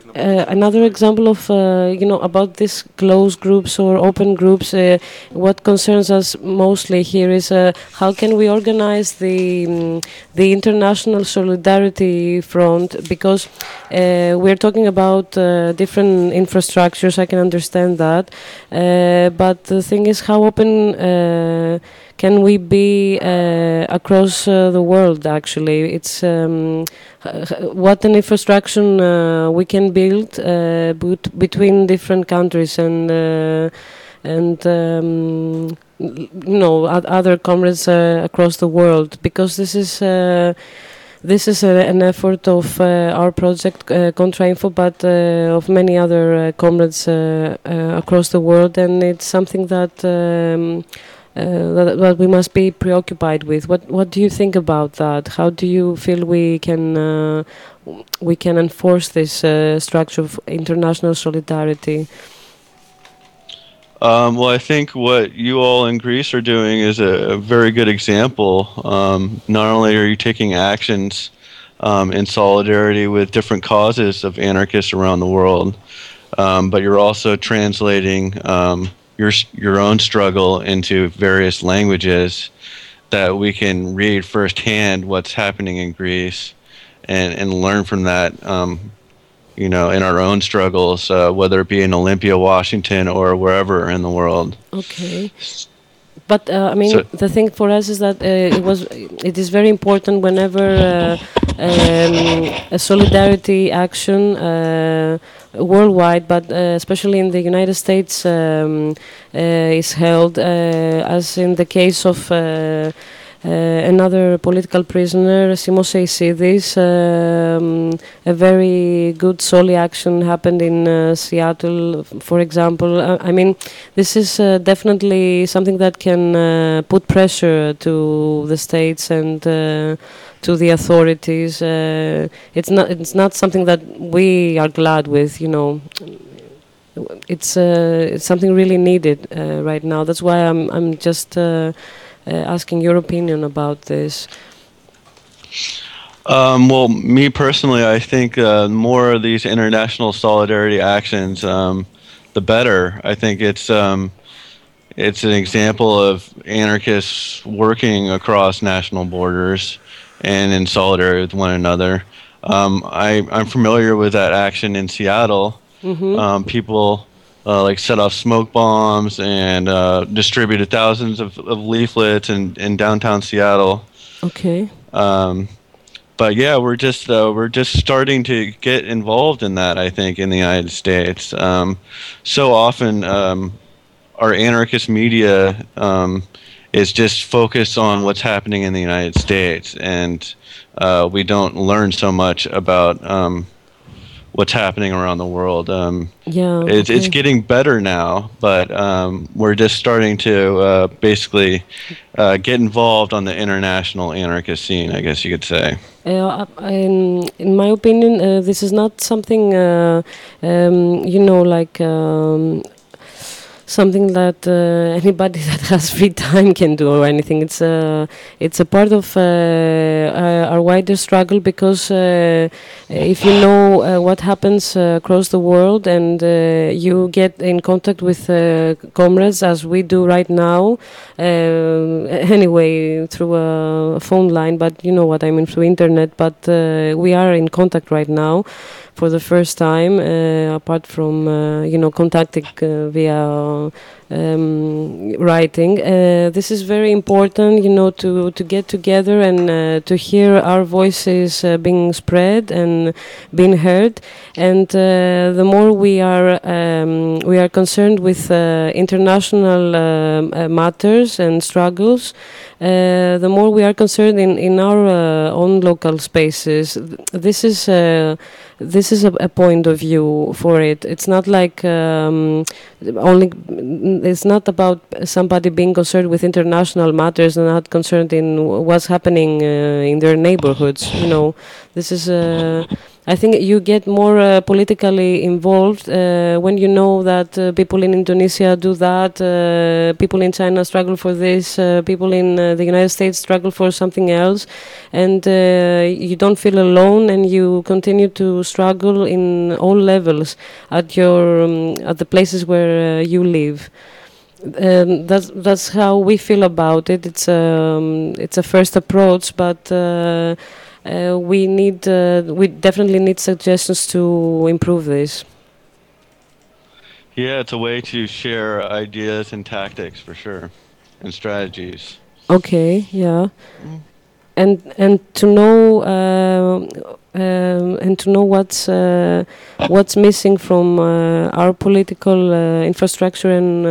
Another example of about these closed groups or open groups, what concerns us mostly here is how can we organize the international solidarity front, because we're talking about different infrastructures. I can understand that, but the thing is, how open can we be across the world? Actually, it's what an infrastructure we can build between different countries and other comrades across the world, because this is an effort of our project Contrainfo, but of many other comrades across the world, and it's something that we must be preoccupied with. What do you think about that? How do you feel we can enforce this structure of international solidarity? Well, I think what you all in Greece are doing is a very good example. Not only are you taking actions in solidarity with different causes of anarchists around the world, but you're also translating your own struggle into various languages that we can read firsthand what's happening in Greece and learn from that. In our own struggles, whether it be in Olympia, Washington, or wherever in the world. Okay. But the thing for us is that it is very important whenever a solidarity action worldwide, but especially in the United States, is held, as in the case of another political prisoner, Simos Seisidis. A very good Soli action happened in Seattle, for example. This is definitely something that can put pressure to the states and to the authorities. It's not something that we are glad with, It's something really needed right now. That's why I'm just asking your opinion about this. Well, me personally, I think more of these international solidarity actions, the better. I think it's an example of anarchists working across national borders and in solidarity with one another. I'm familiar with that action in Seattle. Mm-hmm. People set off smoke bombs and distributed thousands of leaflets in downtown Seattle. Okay. But yeah, we're just starting to get involved in that, I think, in the United States. So often, our anarchist media is just focused on what's happening in the United States, and we don't learn so much about what's happening around the world. It's getting better now, but we're just starting to basically get involved on the international anarchist scene, I guess you could say. In my opinion, this is not something, something that anybody that has free time can do or anything. It's a part of our wider struggle, because if you know what happens across the world and you get in contact with comrades as we do right now, anyway through a phone line, but you know what I mean, through internet, but we are in contact right now for the first time, apart from contacting via writing. This is very important, to get together and to hear our voices being spread and being heard. And the more we are concerned with international matters and struggles, the more we are concerned in our own local spaces. This is a point of view for it. It's not like it's not about somebody being concerned with international matters and not concerned in what's happening in their neighborhoods. This is I think you get more politically involved when you know that people in Indonesia do that, people in China struggle for this, people in the United States struggle for something else, and you don't feel alone, and you continue to struggle in all levels at your at the places where you live. That's how we feel about it. It's a first approach, but. We definitely need suggestions to improve this. Yeah, it's a way to share ideas and tactics for sure, and strategies. Okay, yeah, and to know what's missing from our political infrastructure and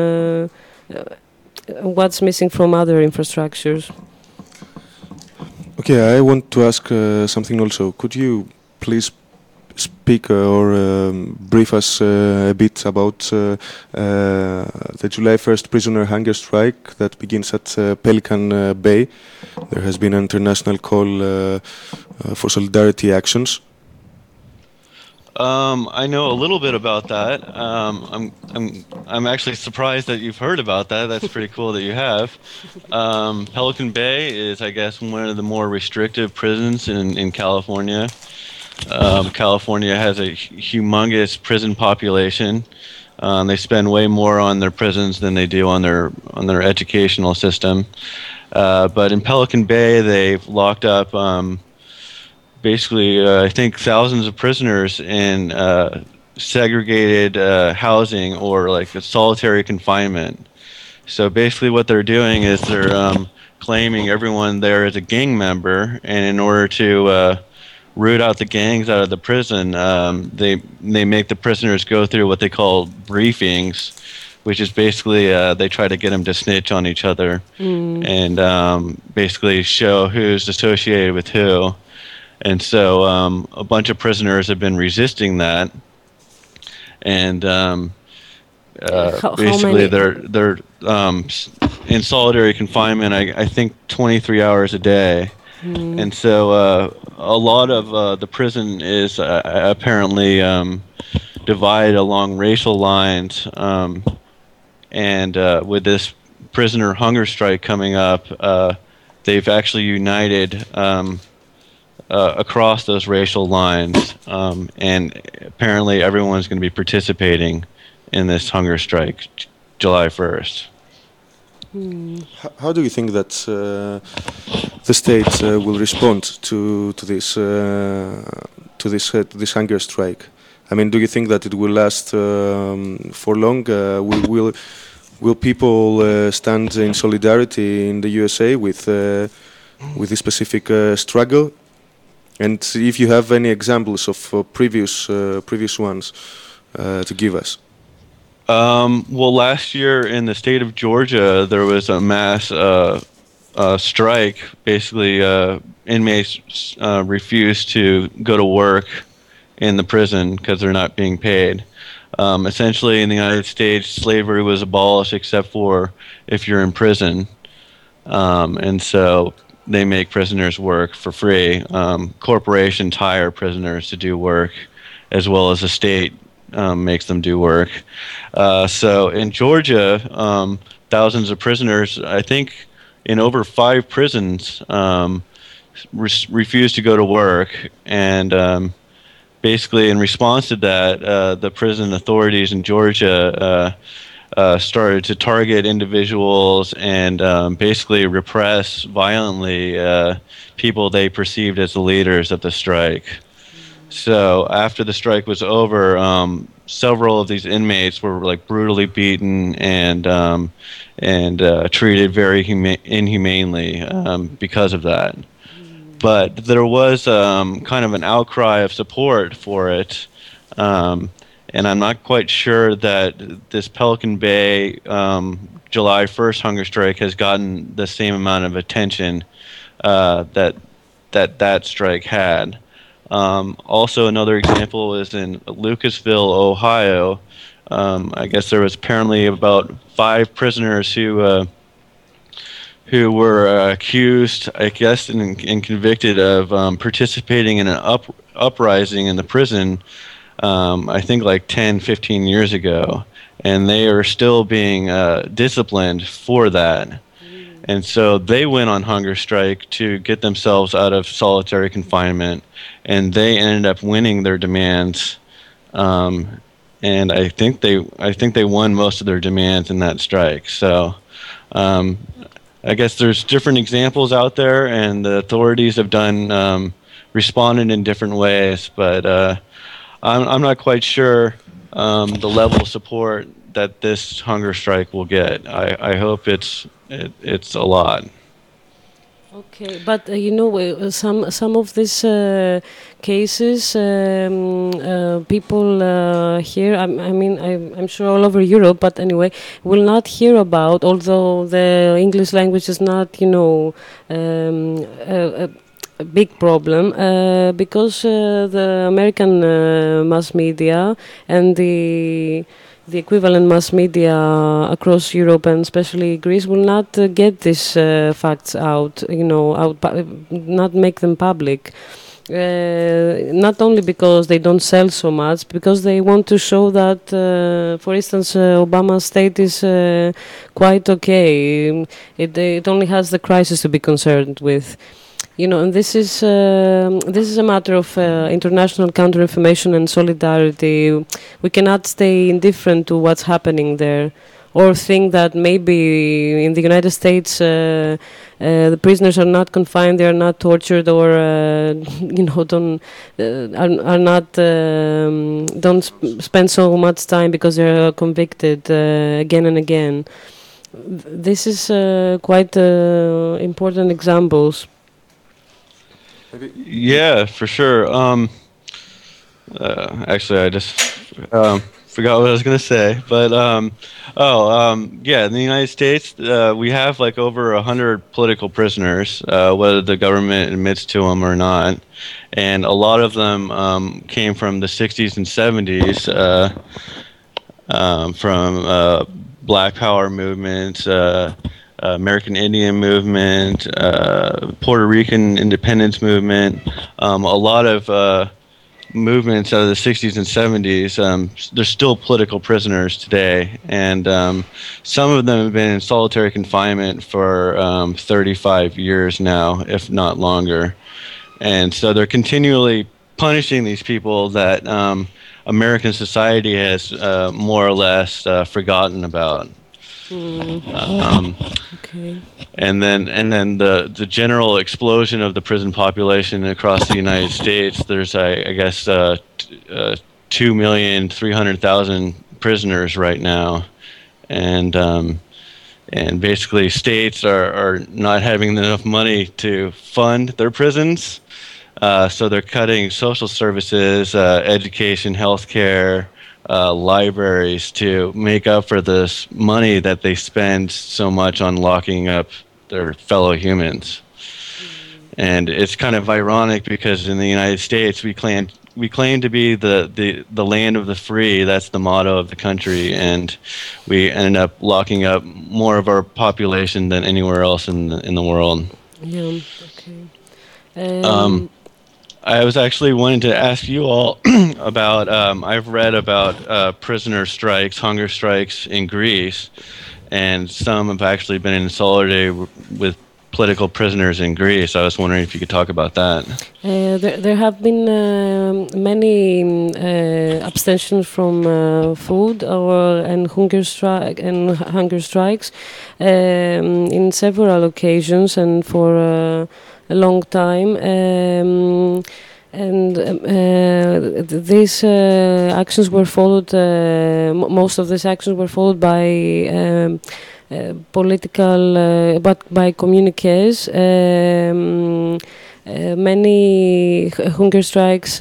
what's missing from other infrastructures. Okay, I want to ask something also. Could you please speak or brief us a bit about the July 1st prisoner hunger strike that begins at Pelican Bay? There has been an international call for solidarity actions. I know a little bit about that. I'm actually surprised that you've heard about that. That's pretty cool that you have. Pelican Bay is, I guess, one of the more restrictive prisons in California. California has a humongous prison population. They spend way more on their prisons than they do on their educational system. But in Pelican Bay, they've locked up. Basically, I think thousands of prisoners in segregated housing or like a solitary confinement. So basically what they're doing is they're claiming everyone there is a gang member, and in order to root out the gangs out of the prison, they make the prisoners go through what they call briefings, which is basically they try to get them to snitch on each other and basically show who's associated with who. And so a bunch of prisoners have been resisting that, and basically they're in solitary confinement. I think 23 hours a day, and so a lot of the prison is apparently divided along racial lines, and with this prisoner hunger strike coming up, they've actually united. Across those racial lines, and apparently everyone's going to be participating in this hunger strike, July 1st. How do you think that the state will respond to this hunger strike? I mean, do you think that it will last for long? Will people stand in solidarity in the USA with this specific struggle? And if you have any examples of previous ones to give us. Well, last year in the state of Georgia, there was a mass strike. Basically, inmates refused to go to work in the prison because they're not being paid. Essentially, in the United States, slavery was abolished except for if you're in prison. And so they make prisoners work for free. Corporations hire prisoners to do work, as well as the state makes them do work. So in Georgia, thousands of prisoners, I think in over 5 prisons, refused to go to work. And basically in response to that, the prison authorities in Georgia started to target individuals and basically repress violently people they perceived as the leaders of the strike. So after the strike was over, several of these inmates were like brutally beaten and treated very inhumanely because of that. But there was kind of an outcry of support for it. And I'm not quite sure that this Pelican Bay July 1st hunger strike has gotten the same amount of attention that strike had. Also, another example is in Lucasville, Ohio. I guess there was apparently about 5 prisoners who were accused, I guess, and convicted of participating in an uprising in the prison, I think like 10, 15 years ago. And they are still being disciplined for that. And so they went on hunger strike to get themselves out of solitary confinement, and they ended up winning their demands. And I think they won most of their demands in that strike. So I guess there's different examples out there, and the authorities have done responded in different ways. But I'm not quite sure the level of support that this hunger strike will get. I hope it's a lot. Okay, but some of these cases, people here, I'm sure all over Europe, but anyway, will not hear about, although the English language is not, a big problem, because the American mass media and the equivalent mass media across Europe and especially Greece will not get these facts out, not make them public. Not only because they don't sell so much, because they want to show that, for instance, Obama's state is quite okay. It only has the crisis to be concerned with. And this is a matter of international counter-information and solidarity. We cannot stay indifferent to what's happening there, or think that maybe in the United States the prisoners are not confined, they are not tortured, or don't spend so much time because they are convicted again and again. This is quite important examples. Yeah, for sure. Actually, I just forgot what I was going to say. But yeah, in the United States, we have like over 100 political prisoners, whether the government admits to them or not, and a lot of them came from the 60s and 70s, from Black Power movements. American Indian movement, Puerto Rican independence movement, a lot of movements out of the 60s and 70s. They're still political prisoners today, and some of them have been in solitary confinement for 35 years now, if not longer. And so they're continually punishing these people that American society has more or less forgotten about. Okay. And then the general explosion of the prison population across the United States. There's I guess 2,300,000 prisoners right now, and basically states are not having enough money to fund their prisons, so they're cutting social services, education, healthcare. Libraries to make up for this money that they spend so much on locking up their fellow humans. And it's kind of ironic because in the United States we claim to be the land of the free. That's the motto of the country, and we end up locking up more of our population than anywhere else in the world. Yeah. Okay. I was actually wanting to ask you all about, I've read about prisoner strikes, hunger strikes in Greece, and some have actually been in solidarity with political prisoners in Greece. I was wondering if you could talk about that. There have been many abstentions from food and hunger strikes in several occasions and for a long time. These actions were followed. Most of these actions were followed by political, but by communiques. Many hunger strikes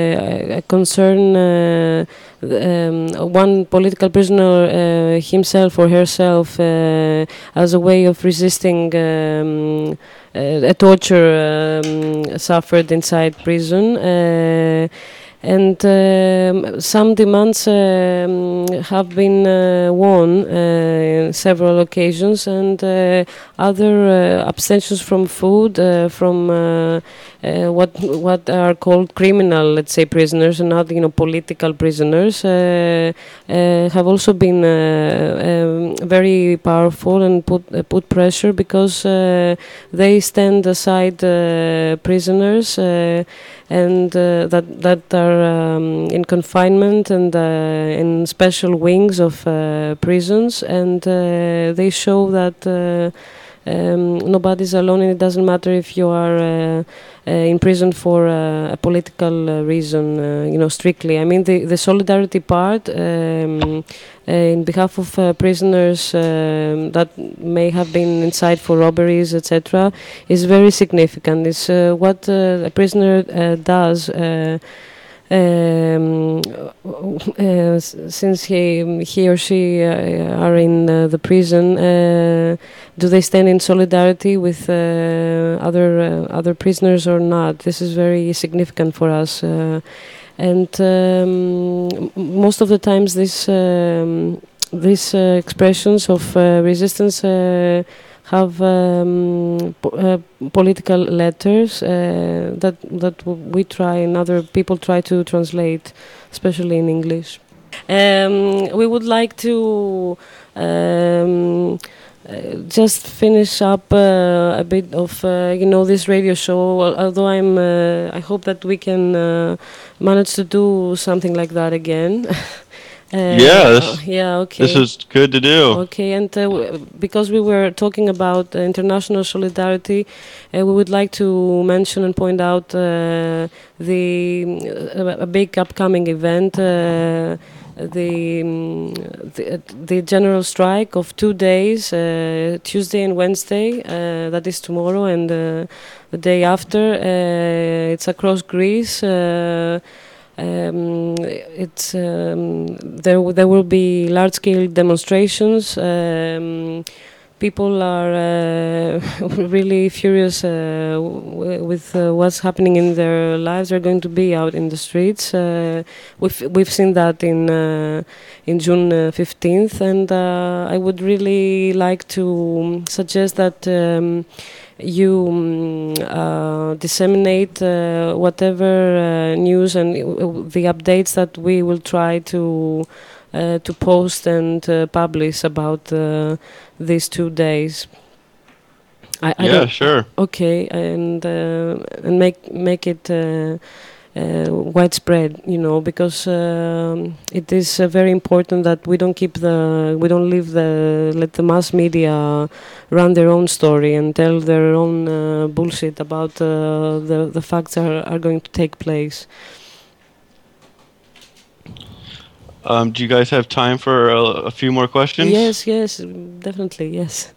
concern one political prisoner himself or herself as a way of resisting a torture suffered inside prison. And some demands have been won in several occasions, and other abstentions from food, from what are called criminal, let's say, prisoners, and not political prisoners, have also been very powerful and put pressure, because they stand aside prisoners and that are in confinement and in special wings of prisons, and they show that nobody's alone, and it doesn't matter if you are in prison for a political reason, strictly. I mean, the solidarity part in behalf of prisoners that may have been inside for robberies, etc., is very significant. It's what a prisoner does. Since he or she are in the prison, do they stand in solidarity with other prisoners or not? This is very significant for us, and most of the times these expressions of resistance have political letters that we try and other people try to translate, especially in English. We would like to just finish up a bit of this radio show. Although I hope that we can manage to do something like that again. Okay. This is good to do. Okay, and because we were talking about international solidarity, we would like to mention and point out a big upcoming event, the general strike of 2 days, Tuesday and Wednesday. That is tomorrow and the day after. It's across Greece. There will be large-scale demonstrations. People are really furious with what's happening in their lives. They're going to be out in the streets. We've seen that in June 15th, and I would really like to suggest that you disseminate whatever news and the updates that we will try to post and publish about these 2 days. Sure. Okay, and make it widespread, because it is very important that we don't let the mass media run their own story and tell their own bullshit about the facts are going to take place. Do you guys have time for a few more questions? Yes, definitely, yes.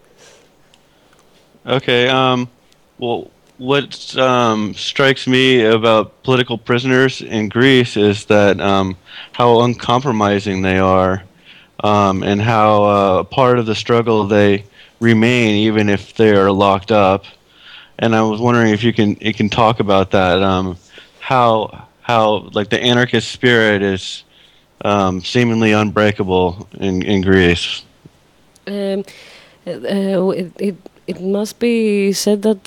Okay. Well, what strikes me about political prisoners in Greece is that how uncompromising they are, and how part of the struggle they remain even if they are locked up. And I was wondering if you can talk about that. How like the anarchist spirit is seemingly unbreakable in Greece. It must be said that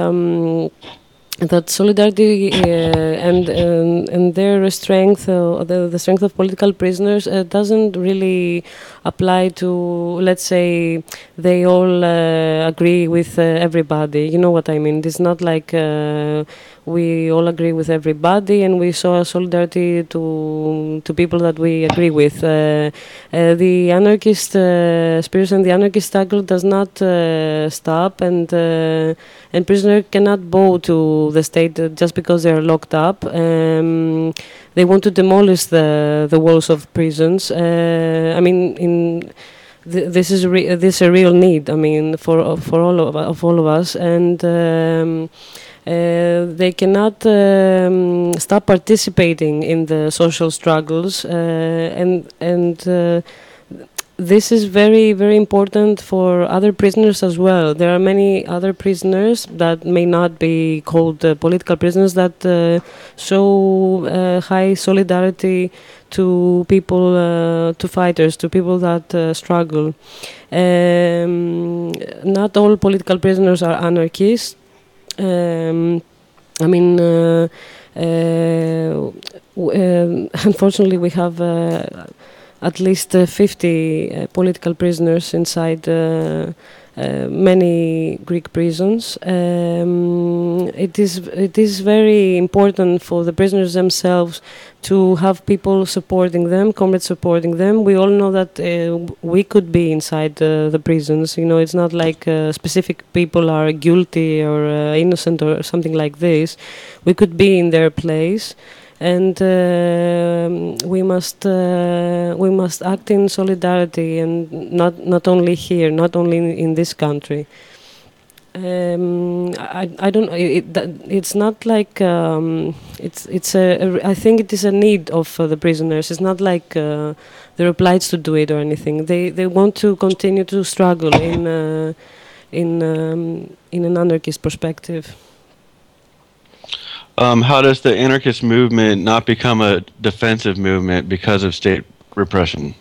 that solidarity and their strength, the strength of political prisoners, doesn't really apply to, let's say, they all agree with everybody. You know what I mean? It's not like we all agree with everybody and we show solidarity to people that we agree with. The anarchist spirit and the anarchist struggle does not stop, and prisoner cannot bow to the state just because they are locked up. They want to demolish the walls of prisons. I mean, this is a real need. I mean, for all of us, and they cannot stop participating in the social struggles, and this is very, very important for other prisoners as well. There are many other prisoners that may not be called political prisoners that show high solidarity to people, to fighters, to people that struggle. Not all political prisoners are anarchists. I mean, unfortunately, we have at least 50 political prisoners inside many Greek prisons. It is very important for the prisoners themselves to have people supporting them, comrades supporting them. We all know that we could be inside the prisons. You know, it's not like specific people are guilty or innocent or something like this. We could be in their place. And we must act in solidarity, and not only here, not only in this country. I don't. It's not like I think it is a need of the prisoners. It's not like they're obliged to do it or anything. They want to continue to struggle in an anarchist perspective. How does the anarchist movement not become a defensive movement because of state repression?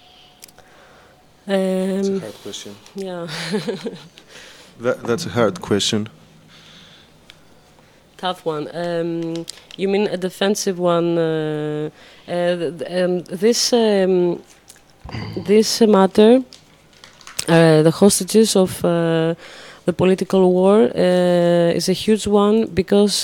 That's a hard question. Yeah. That's a hard question. Tough one. You mean a defensive one? This matter, the hostages of the political war is a huge one because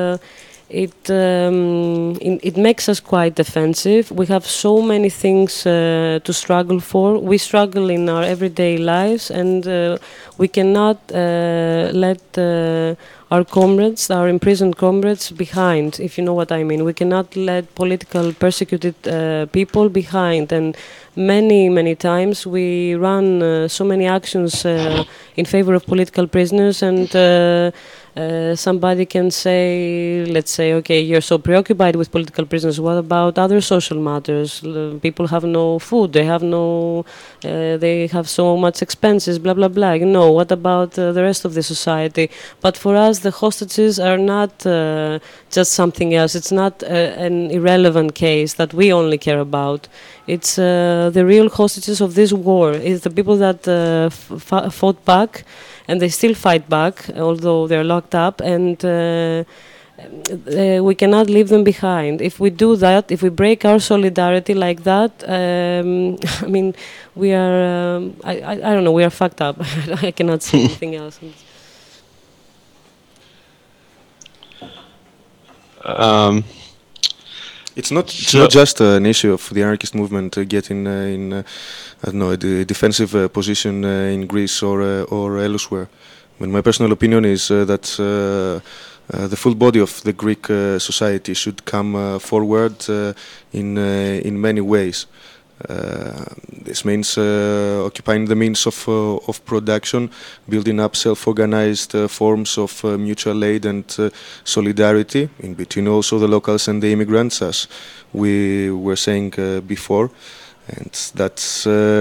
it makes us quite defensive. We have so many things to struggle for. We struggle in our everyday lives, and we cannot let our comrades, our imprisoned comrades, behind, if you know what I mean. We cannot let political persecuted people behind, and many times we run so many actions in favor of political prisoners, and somebody can say, let's say, okay, you're so preoccupied with political prisoners, what about other social matters? People have no food, they have so much expenses, blah blah blah. You know, what about the rest of the society? But for us, the hostages are not just something else. It's not an irrelevant case that we only care about. It's the real hostages of this war. It's the people that fought back, and they still fight back, although they're locked up, and we cannot leave them behind. If we do that, if we break our solidarity like that, I mean, we are, I don't know, we are fucked up. I cannot say anything else. It's not just an issue of the anarchist movement getting in I don't know, a defensive position in Greece or elsewhere. I mean, my personal opinion is that the full body of the Greek society should come forward in many ways. This means occupying the means of production, building up self-organized forms of mutual aid and solidarity in between also the locals and the immigrants, as we were saying before. And that's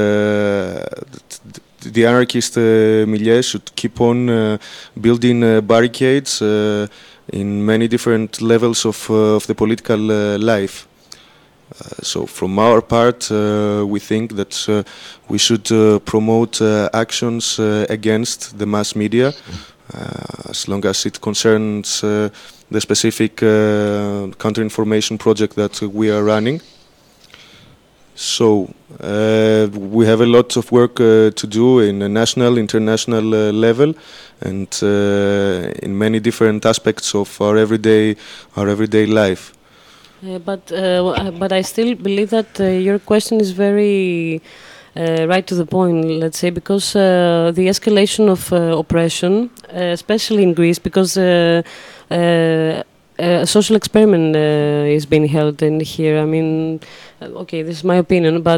the anarchist milieu should keep on building barricades in many different levels of the political life. So from our part, we think that we should promote actions against the mass media, as long as it concerns the specific counter-information project that we are running. So we have a lot of work to do in a national, international level, and in many different aspects of our everyday life. But I still believe that your question is very right to the point, let's say, because the escalation of oppression, especially in Greece, because a social experiment is being held in here. I mean, okay, this is my opinion, but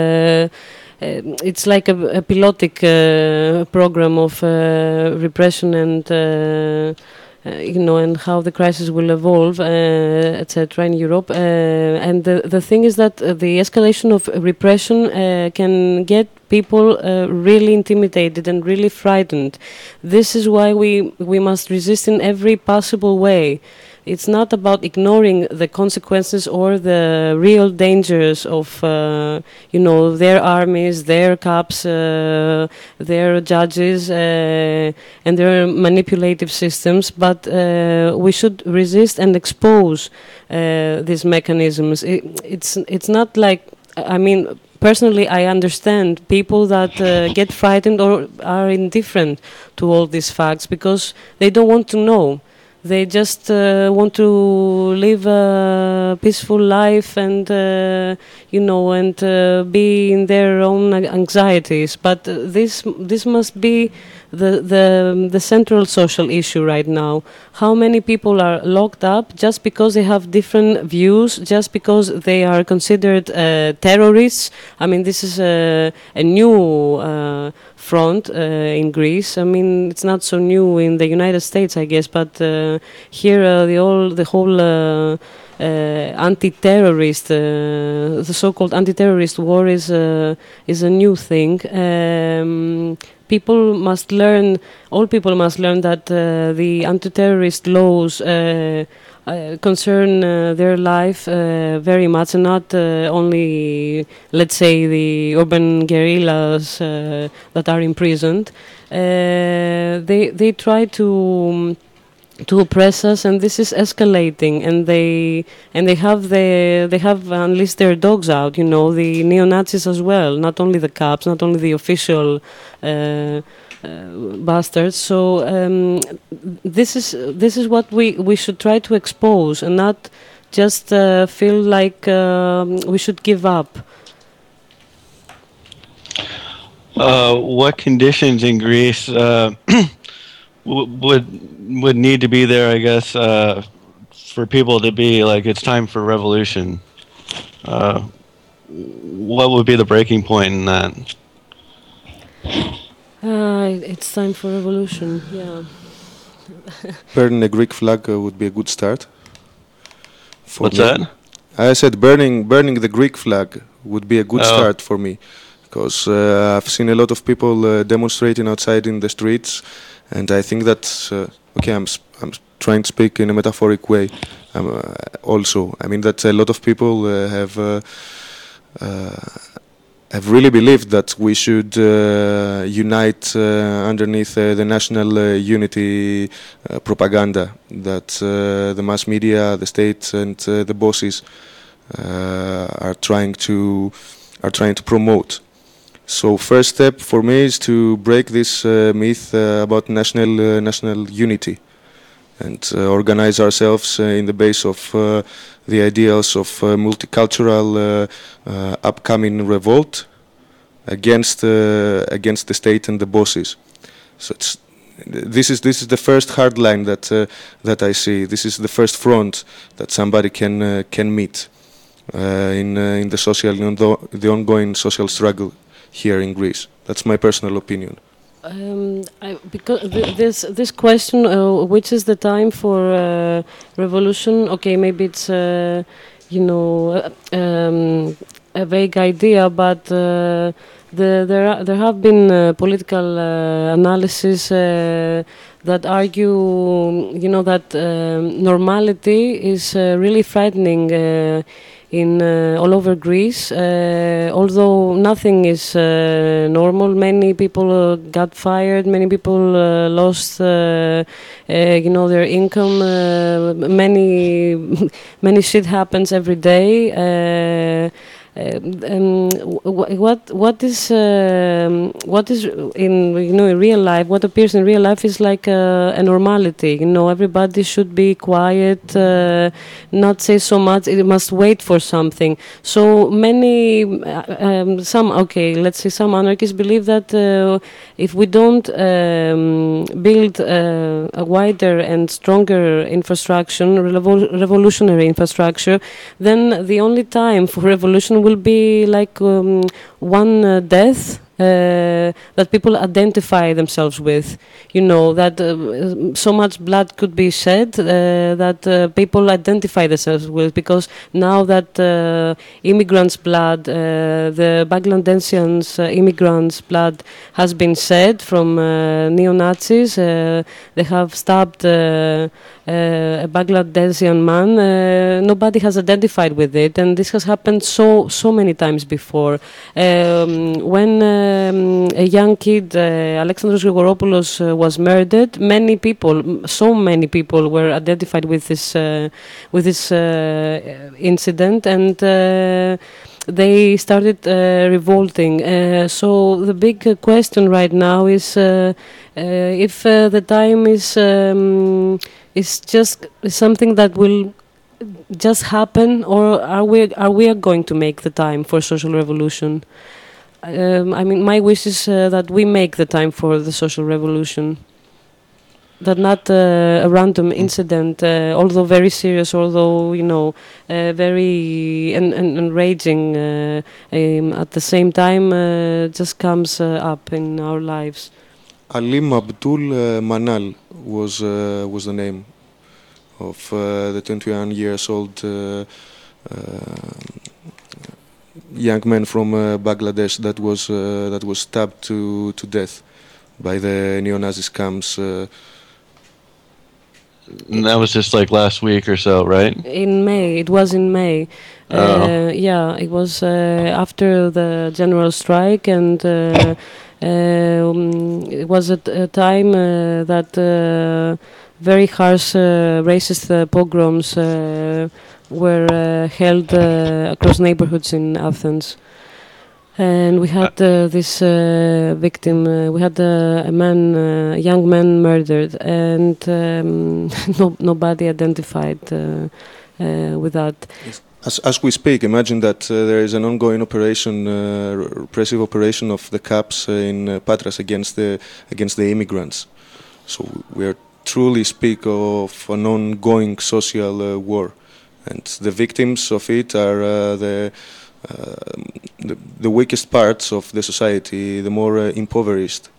it's like a pilotic program of repression and and how the crisis will evolve, etc. in Europe. And the thing is that the escalation of repression can get people really intimidated and really frightened. This is why we must resist in every possible way. It's not about ignoring the consequences or the real dangers of, their armies, their cops, their judges, and their manipulative systems, but we should resist and expose these mechanisms. It's not like, personally, I understand people that get frightened or are indifferent to all these facts because they don't want to know. They just want to live a peaceful life and, be in their own anxieties. But this must be the central social issue right now. How many people are locked up just because they have different views, just because they are considered terrorists? This is a new front in Greece. It's not so new in the United States, I guess, but here the whole anti-terrorist, the so-called anti-terrorist war is a new thing. All people must learn that the anti-terrorist laws concern their life very much, and not only, let's say, the urban guerrillas that are imprisoned. They try to oppress us, and this is escalating. And they have unleashed their dogs out. The neo-Nazis as well, not only the cops, not only the official bastards. So this is what we should try to expose, and not just feel like we should give up. What conditions in Greece would need to be there, I guess, for people to be like, it's time for revolution? What would be the breaking point in that? It's time for revolution, yeah. Burning a Greek flag would be a good start. What's that? I said burning the Greek flag would be a good start for me, because I've seen a lot of people demonstrating outside in the streets, and I think that I'm trying to speak in a metaphoric way. Also, that a lot of people have really believed that we should unite underneath the national unity propaganda that the mass media, the state, and the bosses are trying to promote. So first step for me is to break this myth about national unity, and organize ourselves in the base of the ideals of multicultural upcoming revolt against the state and the bosses. So this is the first hard line that I see. This is the first front that somebody can meet in the ongoing social struggle here in Greece. That's my personal opinion. Because this question, which is the time for revolution? Okay, maybe it's a vague idea, but there have been political analysis that argue, that normality is really frightening in all over Greece. Although nothing is normal, many people got fired, many people lost their income, many shit happens every day. What is in real life? What appears in real life is like a normality. Everybody should be quiet, not say so much. It must wait for something. So many, some anarchists believe that if we don't build a wider and stronger infrastructure, revolutionary infrastructure, then the only time for revolution will be like one death that people identify themselves with. You know, that so much blood could be shed that people identify themselves with, because now that immigrants' blood, the Bangladesians' immigrants' blood has been shed from neo-Nazis. They have stabbed a Bangladesian man. Nobody has identified with it, and this has happened so many times before. When a young kid, Alexandros Grigoropoulos, was murdered, so many people were identified with this incident, and they started revolting. So the big question right now is if the time is just something that will just happen, or are we going to make the time for social revolution? I mean, my wish is that we make the time for the social revolution. That not a random incident, although very serious, although very enraging, at the same time, just comes up in our lives. Alim Abdul Manal was the name of the 21 years old young man from Bangladesh that was stabbed to death by the neo-Nazi camps. And that was just like last week or so, right? In May. It was in May. Yeah, it was after the general strike, and it was at a time that very harsh racist pogroms were held across neighborhoods in Athens. And we had this victim. We had a young man murdered, and nobody identified with that. As we speak, imagine that there is an ongoing operation, repressive operation of the CAPs in Patras against the immigrants. So we are truly speak of an ongoing social war, and the victims of it are the weakest parts of the society, the more impoverished.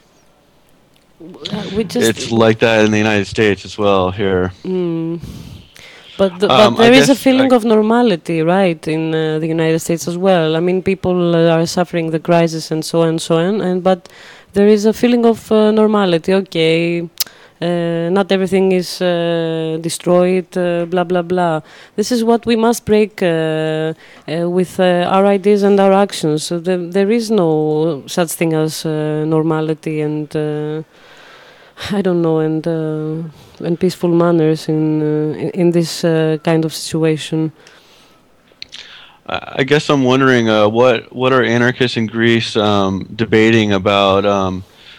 It's like that in the United States as well here. But there is a feeling of normality, right, in the United States as well. I mean, people are suffering the crisis and so on, but there is a feeling of normality. Okay, not everything is destroyed, blah, blah, blah. This is what we must break with our ideas and our actions. So there is no such thing as normality and I don't know, and peaceful manners in this kind of situation. I guess I'm wondering what are anarchists in Greece debating about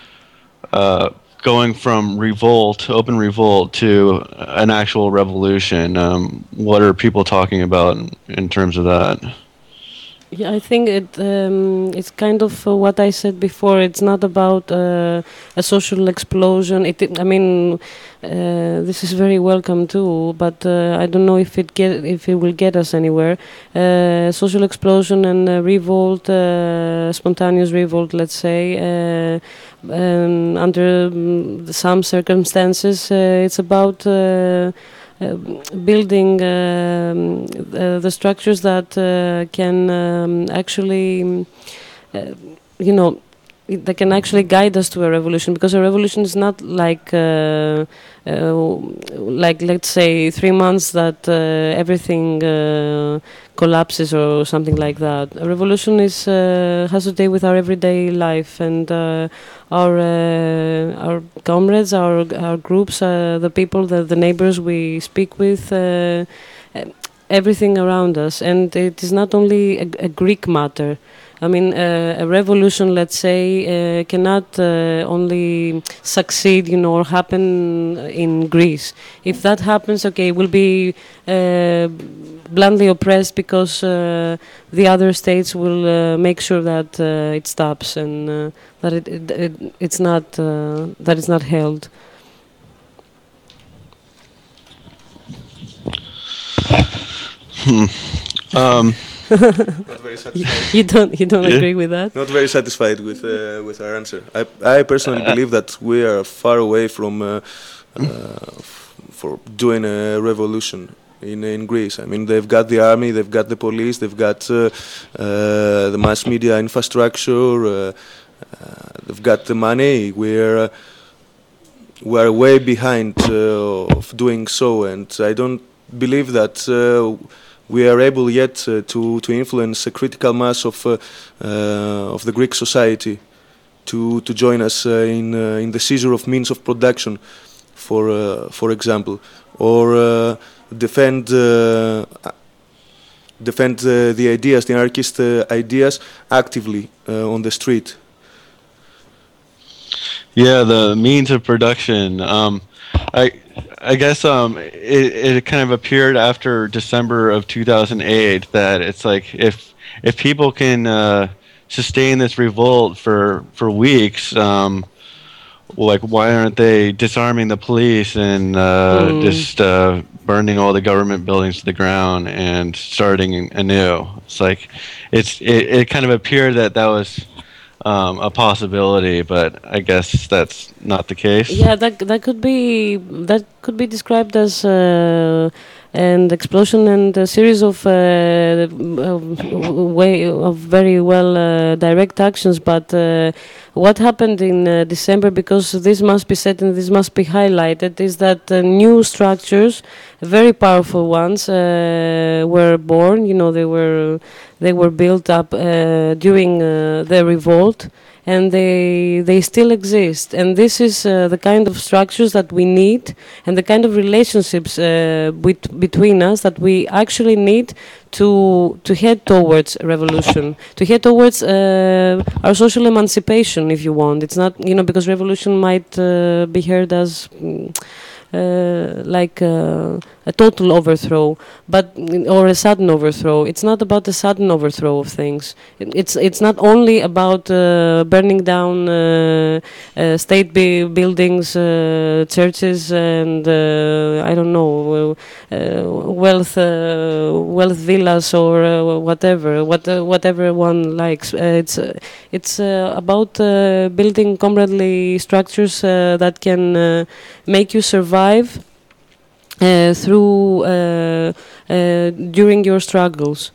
going from open revolt to an actual revolution. What are people talking about in terms of that? Yeah, I think it's kind of what I said before. It's not about a social explosion. I mean, this is very welcome too, but I don't know if it will get us anywhere. Social explosion and revolt, spontaneous revolt, let's say, under some circumstances, it's about building the structures that can actually, that can actually guide us to a revolution, because a revolution is not like let's say 3 months that everything collapses or something like that. A revolution is has to do with our everyday life and our comrades, our groups, the people, the neighbors we speak with, everything around us. And it is not only a Greek matter. I mean, a revolution, let's say, cannot only succeed, or happen in Greece. If that happens, okay, we'll be bluntly oppressed because the other states will make sure that it stops and that it's not held. Not very satisfied. You don't Yeah. agree with that? Not very satisfied with our answer. I personally believe that we are far away from for doing a revolution in Greece. I mean, they've got the army, they've got the police, they've got the mass media infrastructure, they've got the money. We're way behind of doing so, and I don't believe that we are able yet to influence a critical mass of the Greek society to join us in the seizure of means of production, for example, or defend the ideas, the anarchist ideas, actively on the street. Yeah, the means of production. I guess it kind of appeared after December of 2008 that it's like if people can sustain this revolt for weeks, like why aren't they disarming the police and just burning all the government buildings to the ground and starting anew? It's like it kind of appeared that was a possibility, but I guess that's not the case. Yeah, that could be described as an explosion and a series of very well direct actions. But what happened in December, because this must be said and this must be highlighted, is that new structures, very powerful ones, were born. You know, they were built up during the revolt, and they still exist. And this is the kind of structures that we need, and the kind of relationships between us that we actually need to head towards revolution, to head towards our social emancipation, if you want. It's not, because revolution might be heard as like a total overthrow, or a sudden overthrow. It's not about the sudden overthrow of things. It's not only about burning down state buildings, churches, and I don't know, wealth villas or whatever one likes. It's about building comradely structures that can make you survive through during your struggles.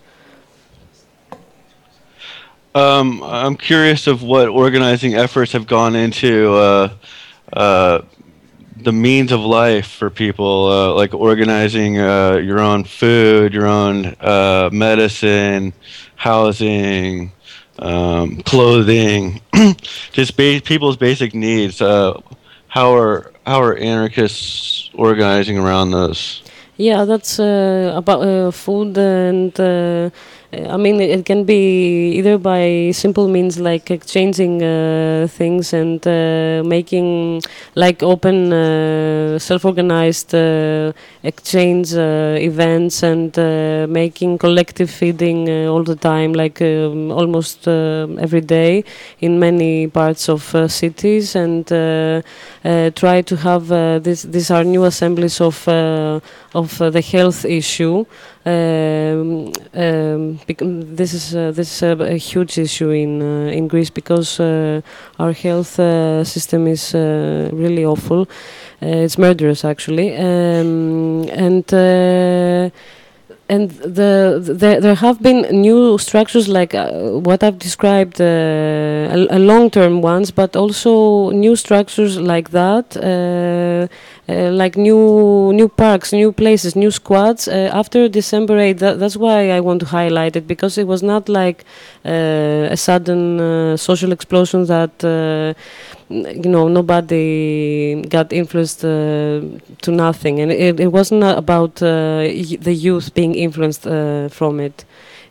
I'm curious of what organizing efforts have gone into the means of life for people, like organizing your own food, your own medicine, housing, clothing, just people's basic needs. How are anarchists organizing around those? Yeah, that's about food, and I mean, it can be either by simple means like exchanging things and making like open self-organized exchange events, and making collective feeding all the time, like almost every day in many parts of cities, and try to have these are new assemblies of the health issue. This is a huge issue in Greece, because our health system is really awful. It's murderous, actually, and there have been new structures like what I've described, a long-term ones, but also new structures like that, like new parks, new places, new squads after December 8th. That's why I want to highlight it, because it was not like a sudden social explosion that nobody got influenced to nothing, and it wasn't about the youth being influenced from it.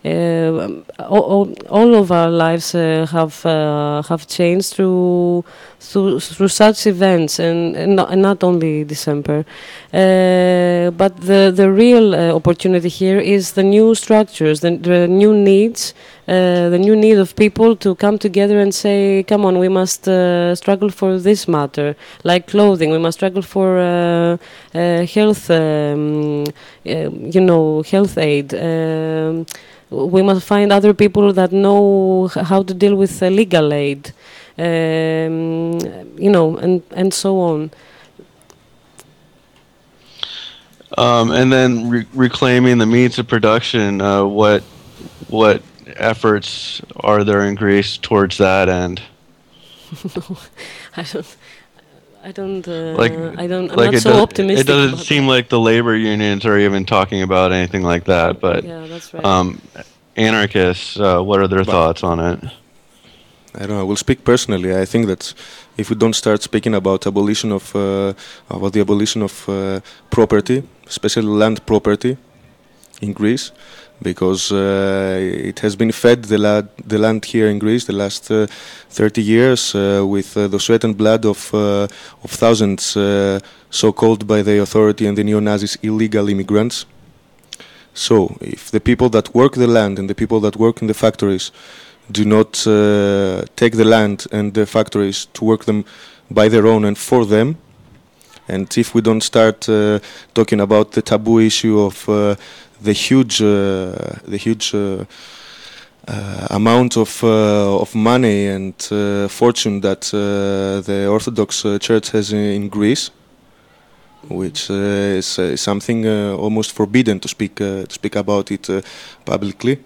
All of our lives have changed through such events, and not only December. But the real opportunity here is the new structures, the new needs, the new need of people to come together and say, come on, we must struggle for this matter, like clothing. We must struggle for health, health aid. we must find other people that know how to deal with legal aid, and so on. And then reclaiming the means of production. What efforts are there in Greece towards that end? I don't. I'm like not so optimistic. It doesn't seem like the labor unions are even talking about anything like that. But yeah, that's right. Anarchists, what are their thoughts on it? I don't know. I will speak personally. I think that if we don't start speaking about the abolition of property, especially land property, in Greece, because it has been fed the land here in Greece the last 30 years with the sweat and blood of thousands, so-called by the authority and the neo-Nazis illegal immigrants. So, if the people that work the land and the people that work in the factories do not take the land and the factories to work them by their own and for them, and if we don't start talking about the taboo issue of the huge amount of money and fortune that the Orthodox Church has in Greece, which is something almost forbidden to speak about it publicly.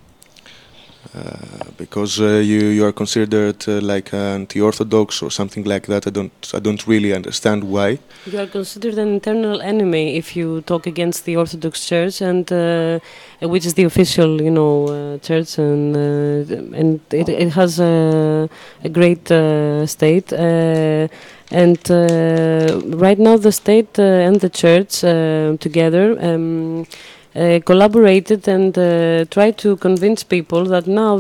Because you are considered like anti-orthodox or something like that. I don't really understand why. You are considered an internal enemy if you talk against the Orthodox Church, and which is the official, church, and it has a great state. And right now, the state and the church together. Collaborated and tried to convince people that now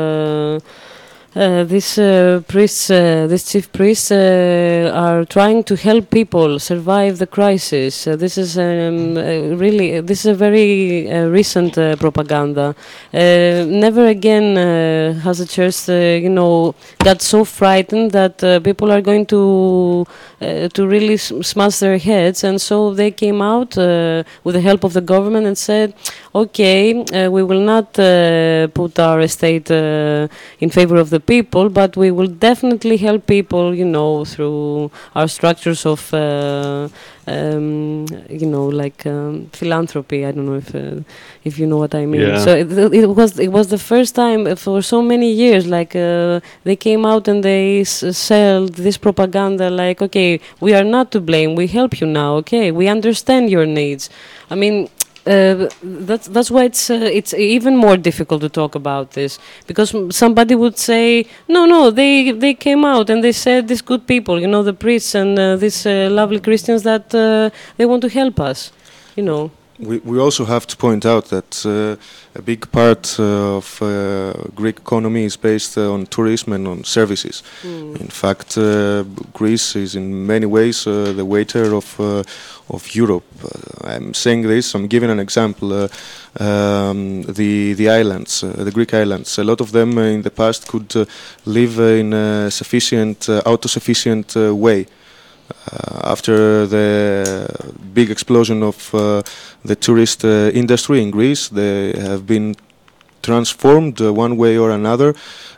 these chief priests are trying to help people survive the crisis. This is a very recent propaganda. Never again has the church, got so frightened that people are going to really smash their heads, and so they came out with the help of the government and said, "Okay, we will not put our state in favor of the people, but we will definitely help people, through our structures of, philanthropy." I don't know if you know what I mean. Yeah. So it was the first time for so many years, they came out and they sold this propaganda, like, okay, we are not to blame, we help you now, okay, we understand your needs. I mean, that's why it's even more difficult to talk about this, because somebody would say, no, they came out and they said, these good people, the priests and these lovely Christians, that they want to help us, We also have to point out that a big part of Greek economy is based on tourism and on services. In fact, Greece is in many ways the waiter of Europe. I'm saying this, I'm giving an example. The islands, the Greek islands, a lot of them in the past could live in a autosufficient way. After the big explosion of the tourist industry in Greece, they have been transformed one way or another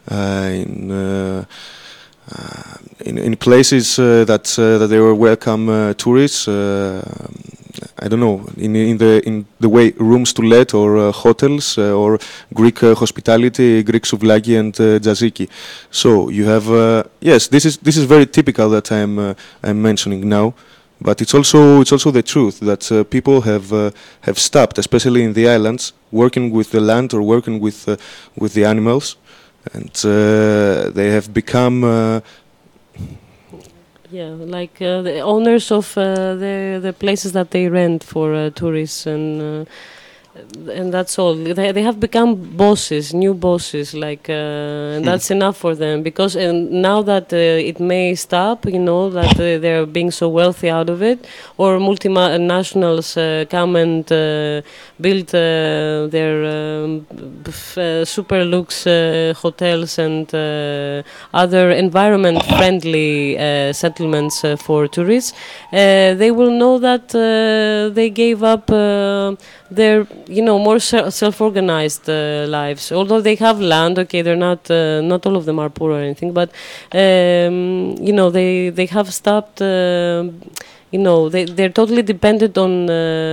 in places that they were welcome tourists. I don't know, in the way rooms to let or hotels or Greek hospitality, Greek souvlaki and tzatziki. So you have yes, this is very typical that I'm mentioning now, but it's also the truth that people have stopped, especially in the islands, working with the land or working with the animals, and they have become. Yeah, like the owners of the places that they rent for tourists, and that's all. They have become bosses, new bosses, and that's enough for them, because now that it may stop, that they're being so wealthy out of it, or multinationals come and build their super luxe hotels and other environment-friendly settlements for tourists, they will know that they gave up their more self-organized lives. Although they have land, okay, they're not all of them are poor or anything, but they have stopped. They're totally dependent on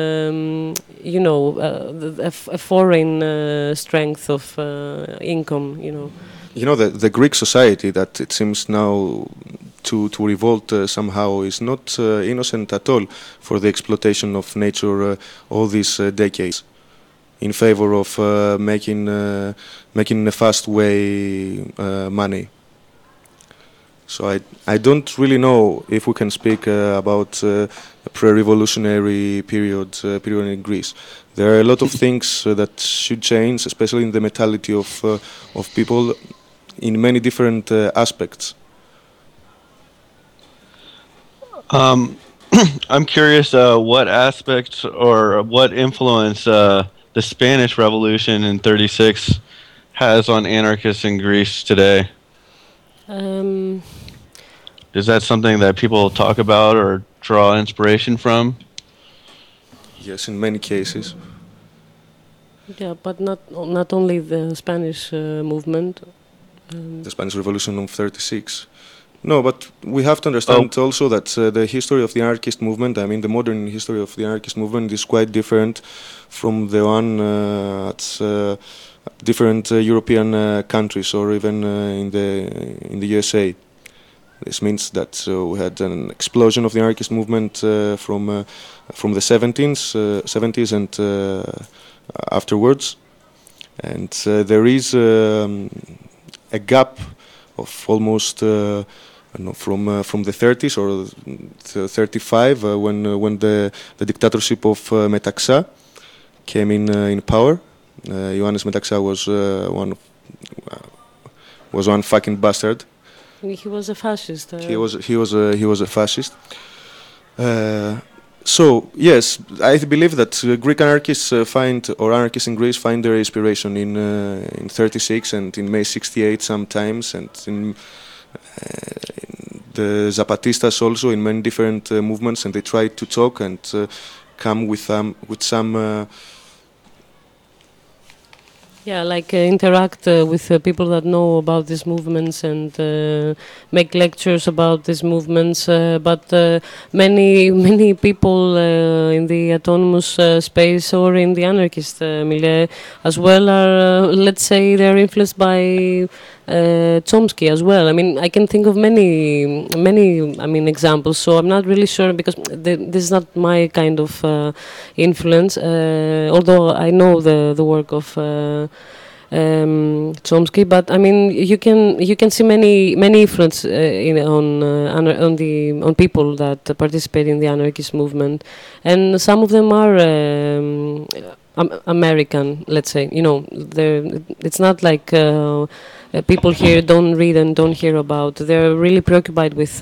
a foreign strength of income. The Greek society that it seems now to revolt somehow is not innocent at all for the exploitation of nature all these decades in favor of making in a fast way money. So I don't really know if we can speak about a pre-revolutionary period in Greece. There are a lot of things that should change, especially in the mentality of people in many different aspects. I'm curious what aspects or what influence the Spanish Revolution in '36 has on anarchists in Greece today. Is that something that people talk about or draw inspiration from? Yes, in many cases. Yeah, but not only the Spanish movement. The Spanish Revolution of '36. No, but we have to understand also that the history of the anarchist movement, I mean the modern history of the anarchist movement, is quite different from the one at different European countries or even in the USA. This means that we had an explosion of the anarchist movement from the 70s and afterwards, and there is a gap of almost from the 30s or 35 when the dictatorship of Metaxa came in power. Ioannis Metaxa was one fucking bastard. He was a fascist. He was a fascist. So yes, I believe that Greek anarchists anarchists in Greece find their inspiration in '36 and in May '68 sometimes, and in the Zapatistas also in many different movements, and they try to talk and come with some. Interact with people that know about these movements and make lectures about these movements. But many people in the autonomous space or in the anarchist milieu as well are, let's say, they're influenced by Chomsky as well. I mean, I can think of many examples. So I'm not really sure because this is not my kind of influence. Although I know the work of Chomsky, but I mean, you can see many influence on people that participate in the anarchist movement, and some of them are American. Let's say, it's not like. People here don't read and don't hear about. They're really preoccupied with,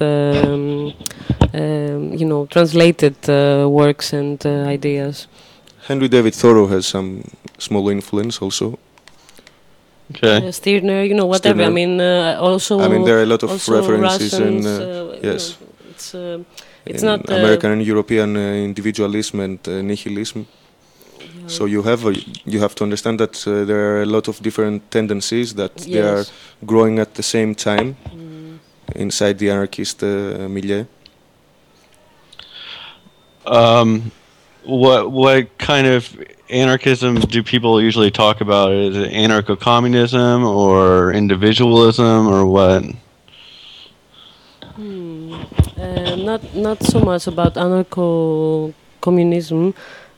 translated works and ideas. Henry David Thoreau has some small influence also. Okay. Stirner, whatever. Stirner. I mean, also. I mean, there are a lot of references Russians, yes. It's not American and European individualism and nihilism. So you have to understand that there are a lot of different tendencies that they are growing at the same time inside the anarchist milieu. What kind of anarchism do people usually talk about? Is it anarcho-communism or individualism or what? Not so much about anarcho-communism.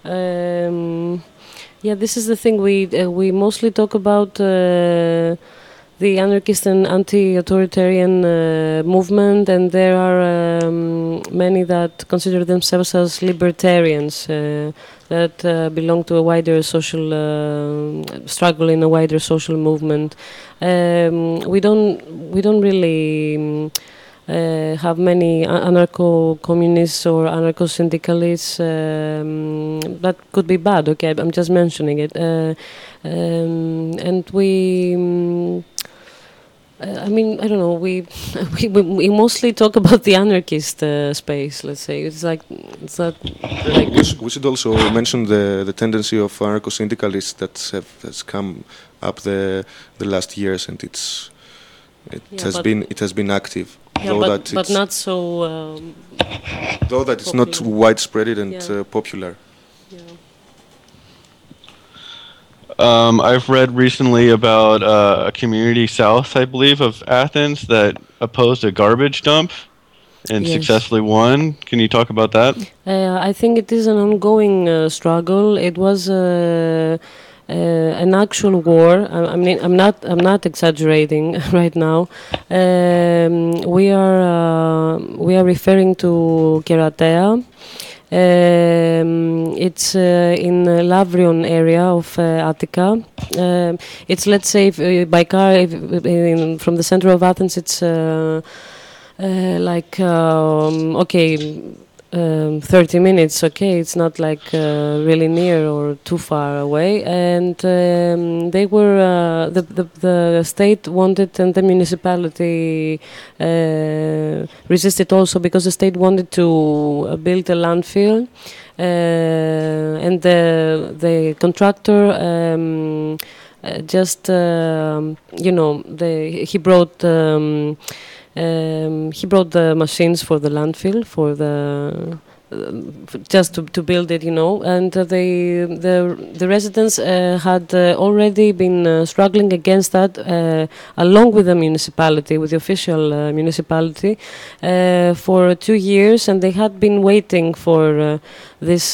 This is the thing. We mostly talk about the anarchist and anti-authoritarian movement, and there are many that consider themselves as libertarians that belong to a wider social struggle in a wider social movement. We don't really. Have many anarcho-communists or anarcho-syndicalists. That could be bad. Okay, I'm just mentioning it. And we I mean, I don't know. We mostly talk about the anarchist space. Let's say it's like it's not like We should also mention the tendency of anarcho-syndicalists that has come up the last years, and it has been active. yeah, but not so. Though that it's not popular. widespread and Yeah. popular. Yeah. I've read recently about a community south, I believe, of Athens that opposed a garbage dump and Yes. successfully won. Can you talk about that? I think it is an ongoing struggle. It was an actual war. I mean, I'm not exaggerating right now. We are referring to Keratea. It's in Lavrion area of Attica. It's, let's say, by car from the center of Athens. It's like okay. 30 minutes, okay, it's not like really near or too far away, and they were the state wanted, and the municipality resisted also, because the state wanted to build a landfill, and the contractor just he brought the machines for the landfill, for the just to build it, and the residents had already been struggling against that, along with the municipality, with the official municipality, for 2 years, and they had been waiting for this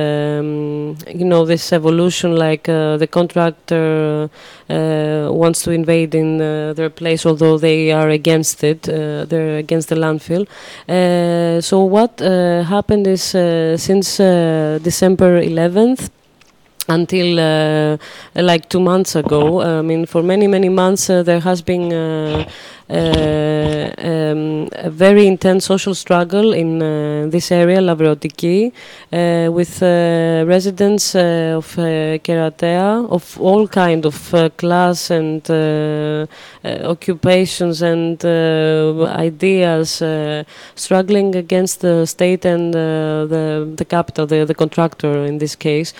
this evolution, like the contractor wants to invade in their place, although they are against it, they're against the landfill. So what happened is, since December 11th until like 2 months ago, I mean, for many months there has been a very intense social struggle in this area, Lavriotiki, with residents of Keratea, of all kind of class and occupations and ideas, struggling against the state and the capital, the contractor in this case.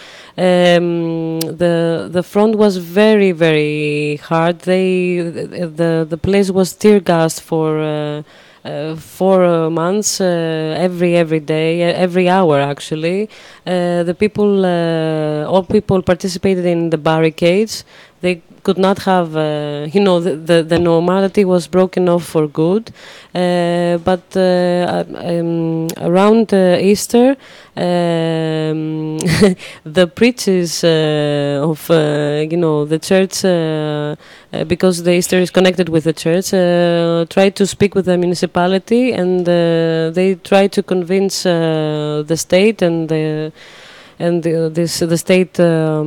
The front was very hard. The place was tear gassed for 4 months, every day, every hour actually. The people, all people participated in the barricades. They could not have, the normality was broken off for good. But around Easter, the preachers of the church, because the Easter is connected with the church, tried to speak with the municipality, and they tried to convince the state and the state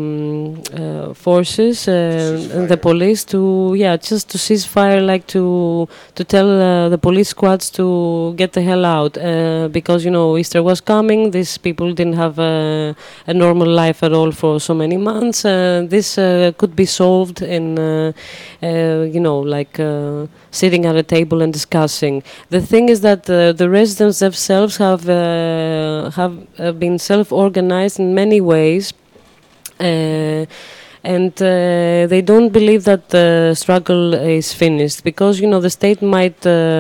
forces and the police to just to cease fire, like to tell the police squads to get the hell out, because Easter was coming. These people didn't have a normal life at all for so many months. This could be solved in sitting at a table and discussing. The thing is that the residents themselves have been self-organized in many ways, and they don't believe that the struggle is finished, because the state might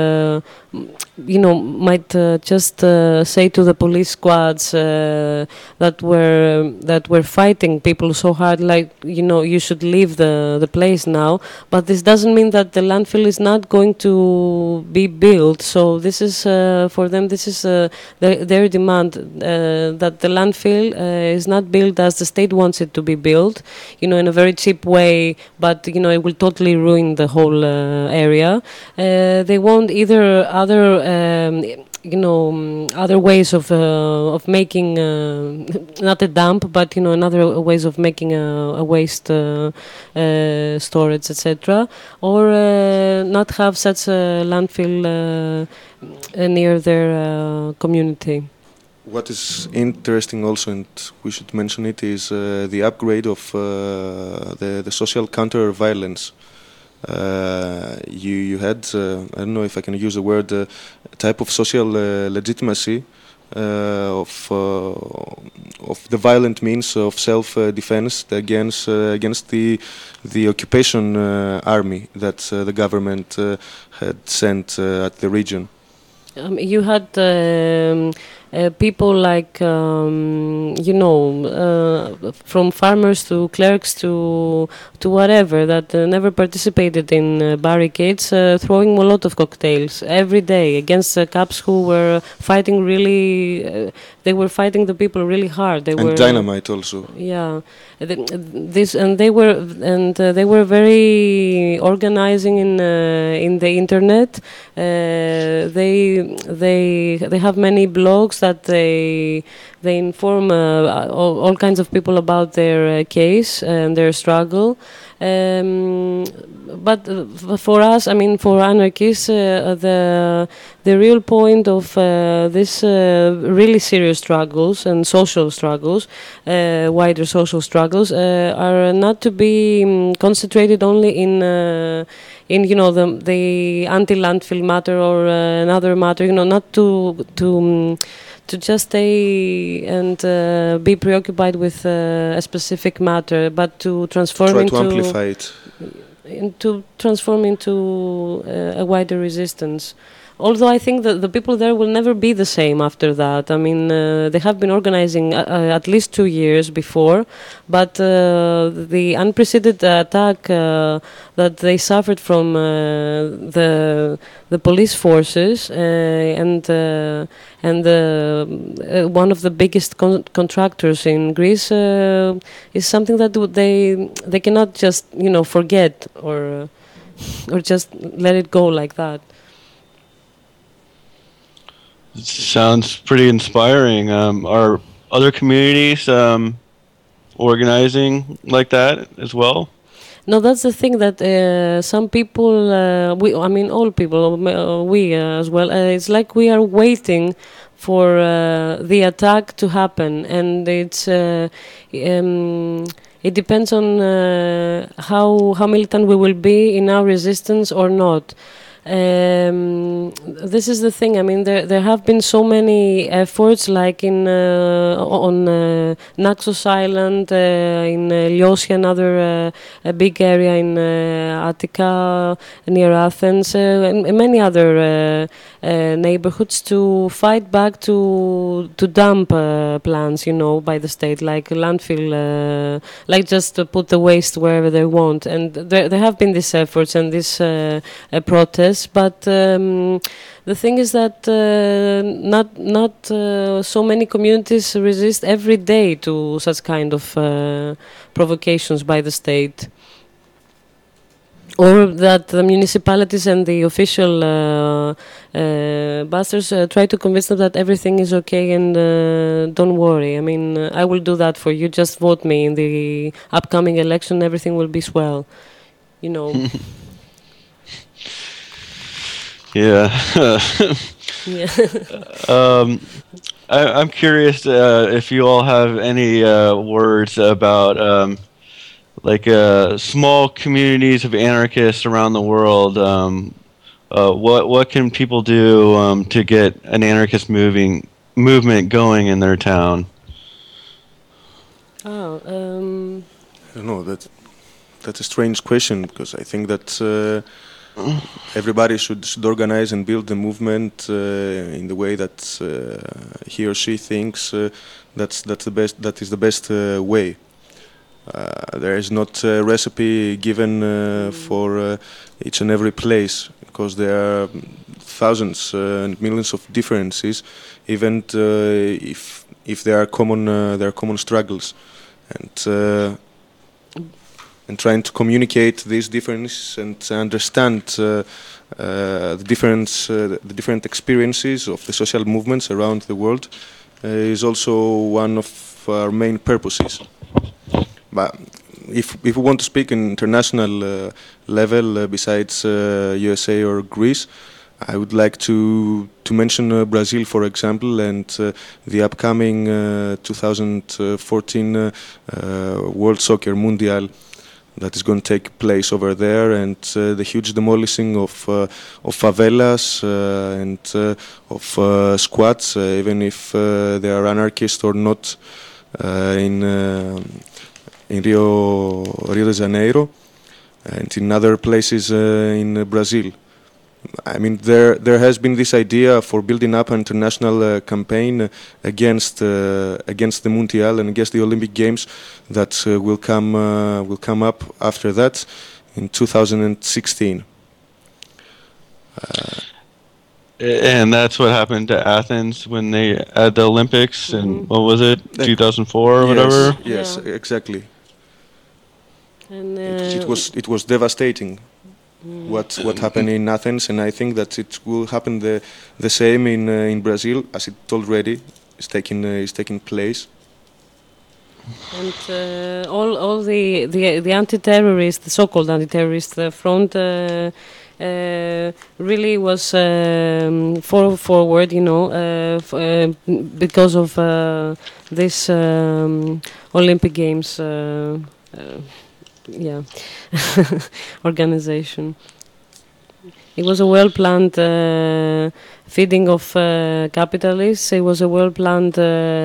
just say to the police squads that were fighting people so hard, like you should leave the place now. But this doesn't mean that the landfill is not going to be built. So this is for them. This is their demand, that the landfill is not built as the state wants it to be built, in a very cheap way. But it will totally ruin the whole area. They want either other other ways of making not a dump, but another ways of making a waste storage, etc., or not have such a landfill near their community. What is interesting also, and we should mention it, is the upgrade of the social counter-violence. you had I don't know if I can use the word a type of social legitimacy of the violent means of self-defense against the occupation army that the government had sent at the region. You had people like, from farmers to clerks to whatever that never participated in barricades, throwing Molotov cocktails every day against cops who were fighting really. They were fighting the people really hard. They were dynamite also. Yeah, they were very organizing in the internet. They have many blogs that they inform all kinds of people about their case and their struggle. But for us, I mean, for anarchists, the real point of this really serious struggles and social struggles, wider social struggles, are not to be concentrated only in the anti-landfill matter or another matter. Not to just stay and be preoccupied with a specific matter, but to transform amplify it. To transform into a wider resistance. Although I think that the people there will never be the same after that. I mean, they have been organizing at least 2 years before, but the unprecedented attack that they suffered from the police forces and one of the biggest contractors in Greece is something that they cannot just forget or just let it go like that. Sounds pretty inspiring. Are other communities organizing like that as well? No, that's the thing that some people, all people, we as well, it's like we are waiting for the attack to happen, and it depends on how militant we will be in our resistance or not. This is the thing. I mean, there have been so many efforts, like on Naxos Island, in Lyosia, another a big area in Attica near Athens, and many other neighborhoods to fight back to dump plants, by the state, like landfill, like just to put the waste wherever they want. And there have been these efforts and this protests. But the thing is that not so many communities resist every day to such kind of provocations by the state, or that the municipalities and the official bastards try to convince them that everything is okay and don't worry. I mean, I will do that for you. Just vote me in the upcoming election. Everything will be swell. Yeah. Yeah. I'm curious if you all have any words about small communities of anarchists around the world. What can people do to get an anarchist movement going in their town? I don't know. That's a strange question, because I think that everybody should organize and build the movement in the way that he or she thinks that's the best. That is the best way. There is not a recipe given for each and every place, because there are thousands and millions of differences, even if there are common struggles, and trying to communicate these differences and understand the different experiences of the social movements around the world is also one of our main purposes. But if we want to speak in international level, besides USA or Greece, I would like to mention Brazil, for example, and the upcoming 2014 World Soccer Mundial, that is going to take place over there, and the huge demolishing of favelas and of squats, even if they are anarchist or not, in Rio de Janeiro and in other places in Brazil. I mean, there has been this idea for building up an international campaign against the Mundial and against the Olympic Games that will come up after that in 2016. And that's what happened to Athens when they had the Olympics, and what was it, 2004 or whatever? Yes, exactly. And it was devastating. What happened in Athens, and I think that it will happen the same in Brazil, as it already is taking place. And all the anti-terrorist, the so-called anti-terrorist front really was forward, because of this Olympic Games. Organization. It was a well-planned feeding of capitalists. It was a well-planned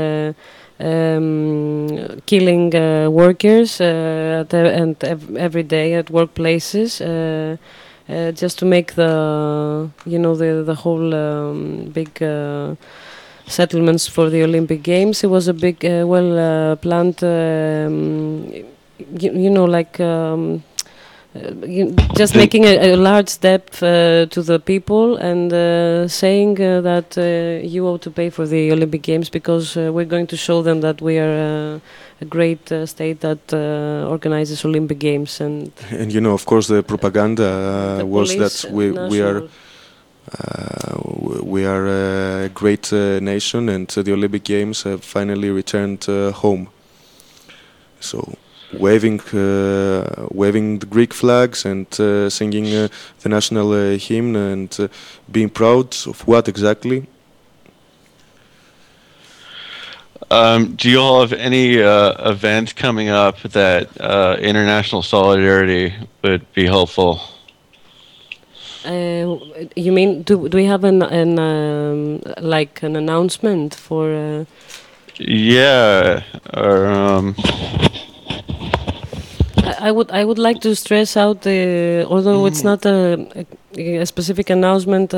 killing workers every day at workplaces, just to make the whole big settlements for the Olympic Games. It was a big, well-planned. Just making a large step to the people and saying that you ought to pay for the Olympic Games because we're going to show them that we are a great state that organizes Olympic Games. And of course, the propaganda was that we are a great nation, and the Olympic Games have finally returned home. So, waving the Greek flags and singing the national hymn and being proud of what exactly? Do you all have any event coming up that international solidarity would be helpful? You mean do we have an announcement for? Yeah, or. I would like to stress out although it's not a specific announcement.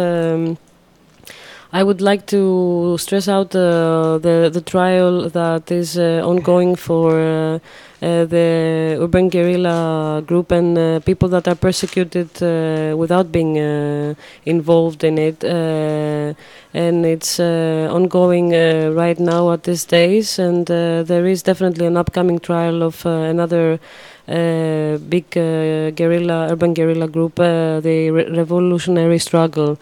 I would like to stress out the trial that is ongoing for the urban guerrilla group and people that are persecuted without being involved in it. And it's ongoing right now at these days, and there is definitely an upcoming trial of another big urban guerrilla group, the Revolutionary Struggle.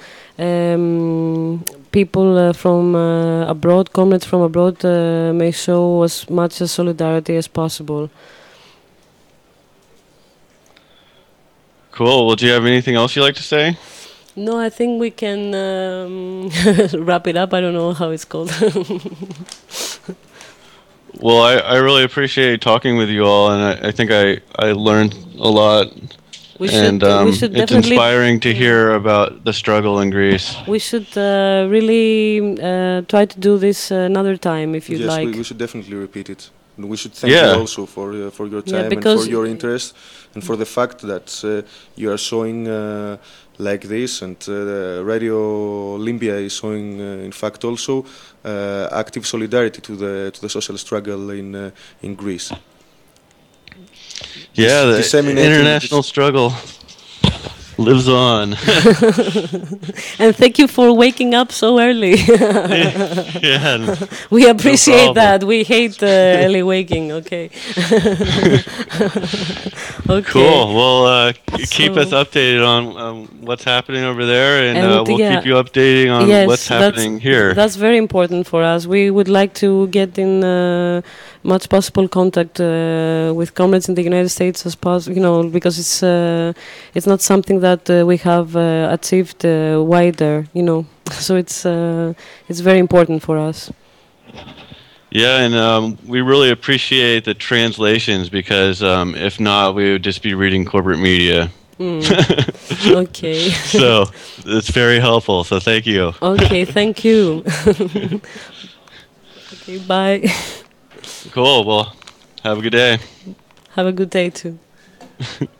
People from abroad, comrades from abroad, may show as much solidarity as possible. Cool. Well, do you have anything else you'd like to say? No, I think we can wrap it up. I don't know how it's called. Well, I really appreciate talking with you all, and I think I learned a lot. It's inspiring to hear about the struggle in Greece. We should really try to do this another time, if you'd like. Yes, we should definitely repeat it. We should thank you also for your time and for your interest, and for the fact that you are showing like this, and Radio Olympia is showing, in fact, also active solidarity to the social struggle in Greece. Yeah, the international struggle lives on. And thank you for waking up so early. Yeah, we appreciate that. We hate early waking. Okay. Okay. Cool. Well, keep us updated on what's happening over there, and we'll keep you updating on what's happening here. That's very important for us. We would like to get in much possible contact with comrades in the United States as possible, because it's not something that we have achieved wider, so it's very important for us. Yeah, and we really appreciate the translations because if not, we would just be reading corporate media. Okay. So it's very helpful. So thank you. Okay, thank you. Okay, bye. Cool. Well, have a good day. Have a good day too.